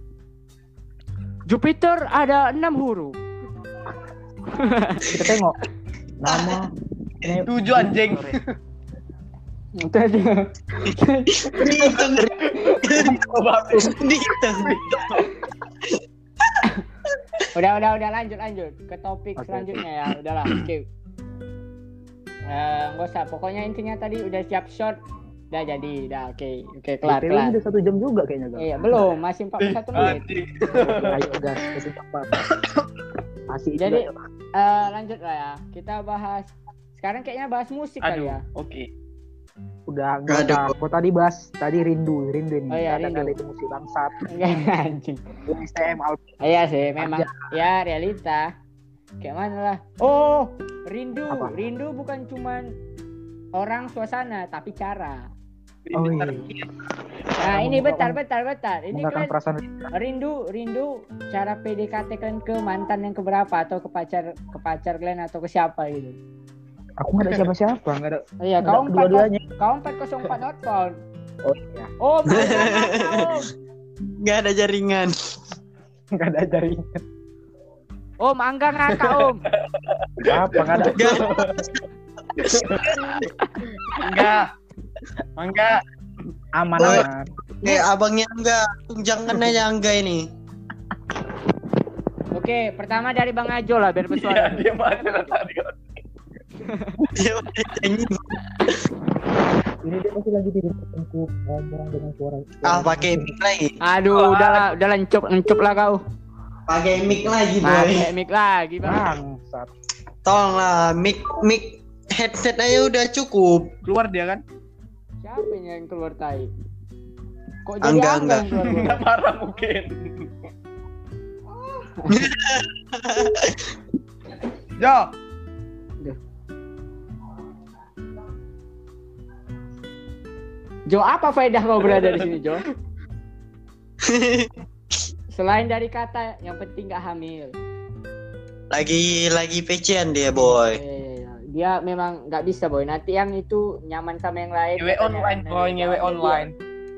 Jupiter ada 6 huruf. Kita tengok nama ini 7 anjing. Itu aja. Dihitung. Udah lanjut ke topik Oke. selanjutnya ya. Udahlah, skip. Nggak usah. Pokoknya intinya tadi udah siap shot, udah jadi, oke kelar. Ini udah 1 jam juga kayaknya Gal. Iya belum, masih 41 menit. Anjing. Ayo gas, itu cepat. Masih Jadi juga. lanjut lah ya. Kita bahas sekarang kayaknya bahas musik kali Aduh, ya. oke. Udah enggak usah. Kok tadi bahas tadi rindu ini. Oh iya, Kadang rindu. ada itu musik bangsat. Anjing. STM album. Iya sih, memang ya realita. Kayak mana lah. Oh, rindu. Apa? Rindu bukan cuman orang suasana, tapi cara. Oh iya. Nah, ini bentar. Ini Menggunakan kalian perasaan rindu cara PDKT kalian ke mantan yang keberapa atau ke pacar kalian atau ke siapa gitu. aku nggak ada siapa-siapa, nggak ada. Iya, Nggak, dua-duanya. kau 404 not found. Oh iya. Oh, Om. Nggak ada jaringan. Nggak ada jaringan. Om, Angga ngakak, Om. Apa nggak ada? Enggak. Aman. Abangnya enggak. Jangan aja Angga ini. Oke, pertama dari Bang Ajo lah biar Iya, bersuara. dia mati lah tadi. Dia udah nyanyi. Ini dia masih lagi tidur untuk ngomong dengan suara. Pakai mic lagi. Aduh, udahlah encup lah kau. Pakai mic lagi, boy. Pakai mic lagi, Bang. Bangsat. Tolonglah, mic headset aja udah cukup. Keluar dia kan? Siapa yang keluar tai? Kok jadi Angga. Angga yang keluar? Enggak marah mungkin. Jo. Jo, apa faedah kau berada di sini, Jo? Selain dari kata yang penting gak hamil. lagi PC-an dia, boy. Dia memang nggak bisa, boy. Nanti yang itu nyaman sama yang lain. Nyewe online, boy, nyewe online.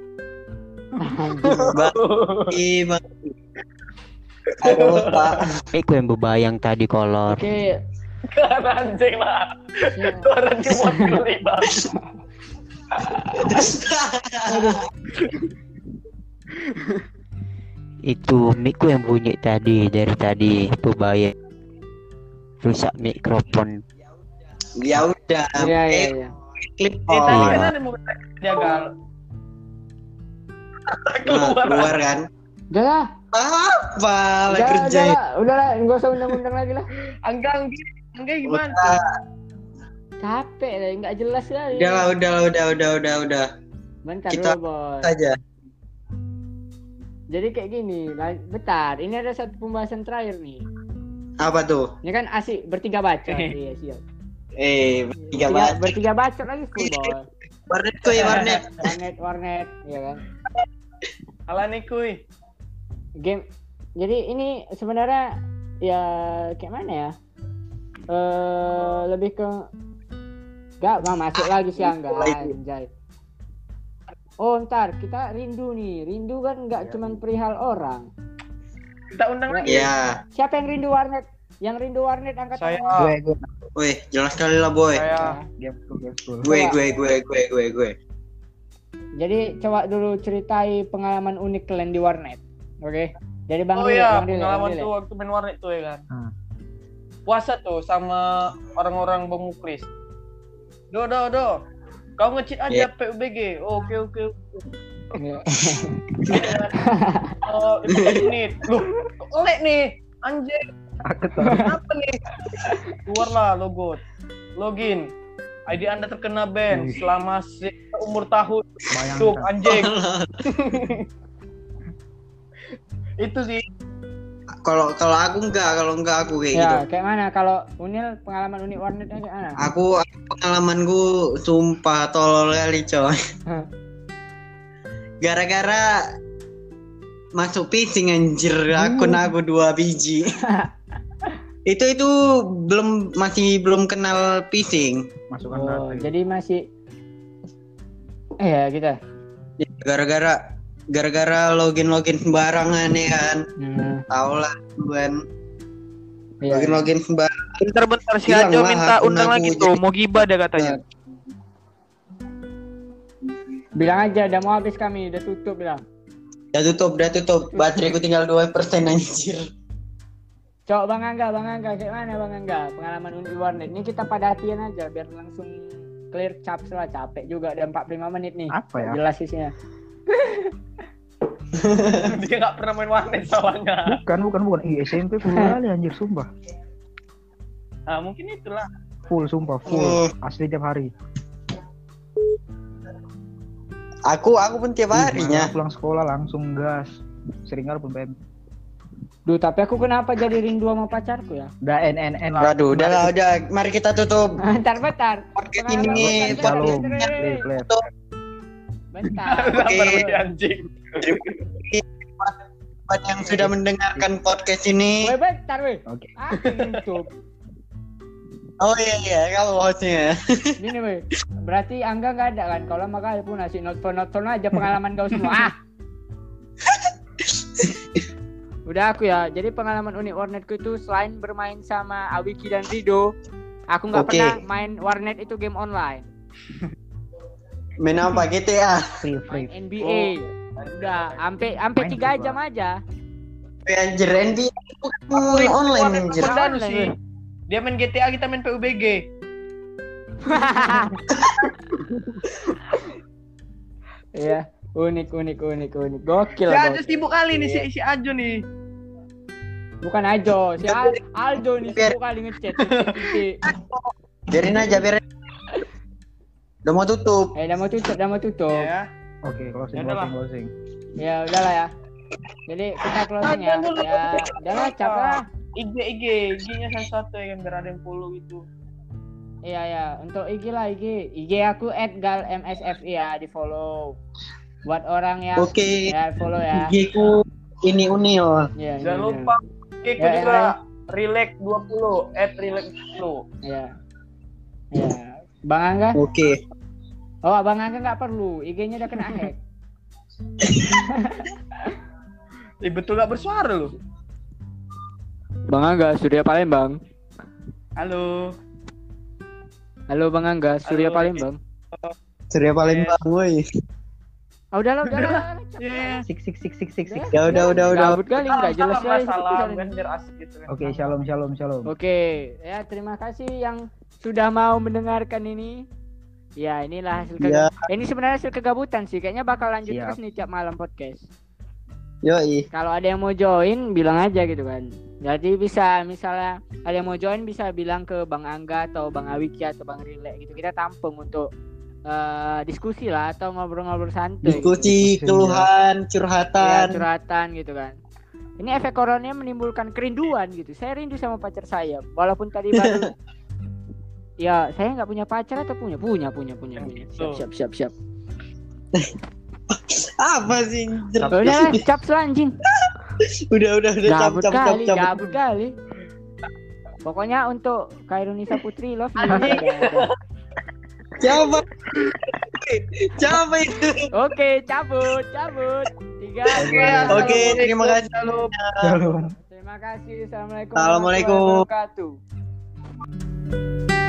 Bang. Aduh, Pak. Iku yang bebayang tadi kolor. Oke. Kan anjing lah. Orang cuma terlibat. Itu mikku yang bunyi tadi dari tadi bebayang. Rusak mikrofon. Ya udah. Iya. Klip Tadi on. kan ada mau jagal. Keluar kan? Udah lah. Apa lah kerja? Udahlah, nggak usah undang-undang lagi lah. Angga gimana? Capek lah, nggak jelas lah. Udah. Bentar Kita- dulu, boy. Saja. Jadi kayak gini, bentar. Ini ada satu pembahasan terakhir nih. Apa tuh? Ini kan asik bertiga baca. Iya, siap. Tiga banget. Bertiga baca lagi full, boy. Warnet tuh ya warnet. Warnet, ya kan. Ala nih kuy. Game. Jadi ini sebenarnya ya kayak mana ya? Lebih ke nggak masuk lagi sih Angga, anjay. Oh ntar kita rindu nih. Rindu kan nggak cuman perihal orang. Kita undang lagi. Ya. Siapa yang rindu warnet? Yang rindu warnet angkat Saya. tangan. Gue. Wih, jelas sekali lah, boy. Saya. Game school. Gue. Jadi coba dulu ceritai pengalaman unik kalian di warnet. Oke. Dari Bang Oh Dile, iya, Bang Dile, pengalaman Bang Dile. tuh waktu main warnet tuh ya kan. puasa tuh sama orang-orang Bemuklis. Do. Kau nge-cheat aja PUBG. Oke. Iya. 15 menit. Loh, oleh nih. Anjir. Apa nih? Keluarlah logo. Login. ID Anda terkena ban selama umur tahun. Tuh, anjing. Itu sih. Kalau aku enggak aku kayak Ya, gitu. kayak mana? Kalau Unil pengalaman unik warnetnya kayak mana? Aku pengalamanku sumpah tolol kali coy. Gara-gara masuk phishing anjir akun aku 2 biji. itu masih belum kenal phishing. Masukkan Oh, data. jadi masih ya kita. Gara-gara login sembarangan ya kan. Tahu lah kan. Iya. Login sembarangan. Bentar si Hilang Ajo lah minta akun undang aku, lagi tuh. Mau gibah dah katanya. Bilang aja udah mau habis kami, udah tutup bilang. Udah tutup. Bateraiku tinggal 2% anjir. Cok Bang Angga, kayak mana Bang Angga? Pengalaman unik warnet. Ini kita pada hatian aja biar langsung clear caps lah, capek juga udah 45 menit nih. Apa ya? Jelas isinya. Dia nggak pernah main warnet soalnya. Bukan. SMP full kali anjir sumpah. Nah, mungkin itulah. Full sumpah, full. Asli tiap hari. Aku pun tiap harinya. Pulang sekolah langsung gas. Sering kali pun BM. Duh, tapi aku kenapa jadi rindu sama pacarku ya? Udah NNN. Waduh, udah. Mari kita tutup. Bentar. Podcast Pengalaman ini, bentar, Shalom. bentar. Play. Bentar. Oke. Anjing. Buat yang sudah mendengarkan podcast ini. Woi, bentar woi. Oke. Aku tutup. Oh iya, kamu hostnya. Gini woi. Berarti Angga nggak ada kan? Kalau makanya pun ngasih note aja pengalaman kau semua. Udah aku ya. Jadi pengalaman unik warnetku itu selain bermain sama Awiki dan Rido, aku nggak Oke. pernah main warnet itu game online. Main apa GTA? Free. Main NBA. Udah, sampai 3 jam aja. Anjir, NBA bukan online anjir. Pendanu sih. Dia main GTA, kita main PUBG. Iya, unik. Gokil. Si Ajo gokil. sibuk kali nih si Ajo nih. Bukan Ajo, si Aldo nih sibuk kali ngechat. Biarin aja. Udah mau tutup. Udah mau tutup. Ya. Oke, Ya udahlah. closing. Ya udahlah ya. Jadi kita closing ya. Ya, udahlah capek lah. IG-nya satu ya kan biar ada yang follow itu. Iya. Untuk IG lah IG aku @galmsfi ya, di follow. Buat orang yang Oke. ya follow ya. IG-ku ini Unil. Iya. Jangan lupa IG-ku Ya, juga relax20 @relax20. Iya. Iya. Bang Angga? Oke. Oh, Bang Angga nggak perlu. IG-nya udah kena hack. Betul gak bersuara lu. Bang Angga, Surya Palembang. Halo. Halo Bang Angga, Surya Halo. Palembang. Surya Palembang, woi. Udahlah. Yeah. Sik. Ya udah. Gabut kali nggak jelas ya. Salam kan biar asik gitu kan. Oke, shalom. Oke, ya terima kasih yang sudah mau mendengarkan ini. Ya, inilah hasil ini sebenarnya hasil kegabutan sih. Kayaknya bakal lanjut Siap. terus nih tiap malam podcast. Yoi. Kalau ada yang mau join, bilang aja gitu kan. Jadi bisa misalnya ada yang mau join bisa bilang ke Bang Angga atau Bang Awiki atau Bang Rile gitu. Kita tampung untuk diskusi lah atau ngobrol-ngobrol santai. Diskusi, keluhan, Ya, curhatan. curhatan gitu kan. Ini efek coronanya menimbulkan kerinduan gitu. Saya rindu sama pacar saya. Walaupun tadi baru ya, saya nggak punya pacar atau punya. Siap. Apa sih? Udah, cap selanjing. Udah. Gabut Cap. kali. Pokoknya untuk Kairunisa Putri love you. Siapa itu? Oke, cabut. 3. Oke, terima kasih. Shalom. Terima kasih. Assalamualaikum Assalamualaikum. warahmatullahi wabarakatuh.